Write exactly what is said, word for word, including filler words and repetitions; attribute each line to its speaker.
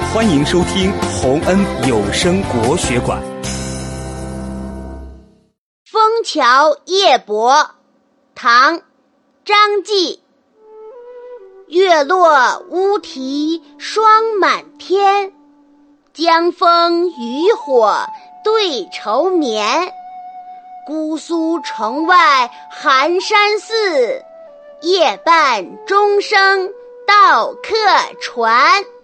Speaker 1: 欢迎收听洪恩有声国学馆。
Speaker 2: 枫桥夜泊，唐·张继。月落乌啼霜满天，江枫渔火对愁眠。姑苏城外寒山寺，夜半钟声到客船。